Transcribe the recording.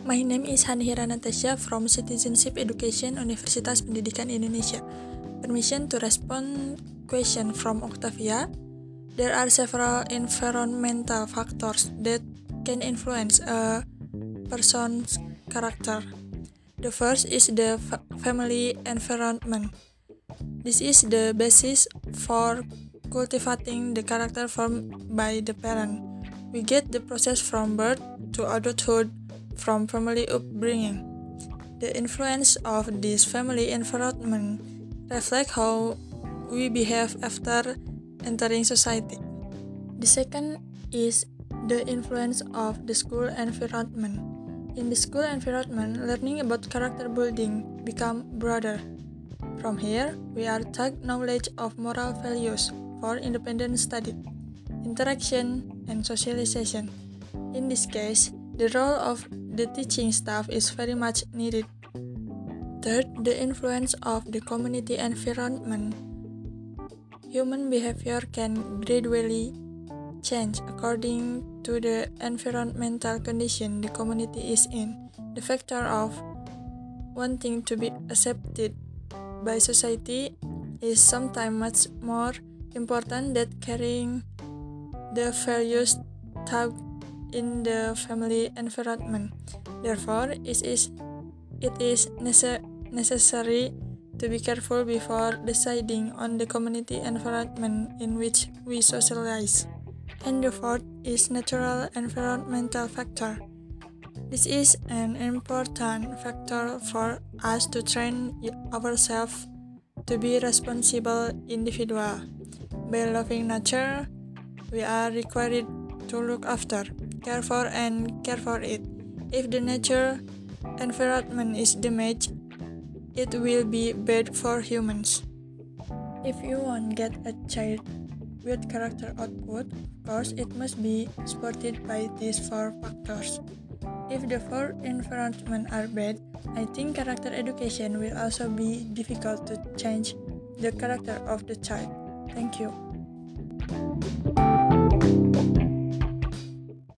My name is Hanhira Natasha from Citizenship Education Universitas Pendidikan Indonesia. Permission to respond question from Octavia. There are several environmental factors that can influence a person's character. The first is the family environment. This is the basis for cultivating the character formed by the parent. We get the process from birth to adulthood from family upbringing. The influence of this family environment reflects how we behave after entering society. The second is the influence of the school environment. In the school environment, learning about character building becomes broader. From here, we are taught knowledge of moral values for independent study, interaction, and socialization. In this case, the role of the teaching staff is very much needed. Third, the influence of the community environment. Human behavior can gradually change according to the environmental condition the community is in. The factor of wanting to be accepted by society is sometimes much more important than carrying the values taught in the family environment. Therefore, it is necessary to be careful before deciding on the community environment in which we socialize. And the fourth is natural environmental factor. This is an important factor for us to train ourselves to be responsible individuals. By loving nature, we are required to look after, care for, and care for it. If the nature environment is damaged, it will be bad for humans. If you want to get a child with character output, of course it must be supported by these four factors. If the four environment are bad, I think character education will also be difficult to change the character of the child. Thank you.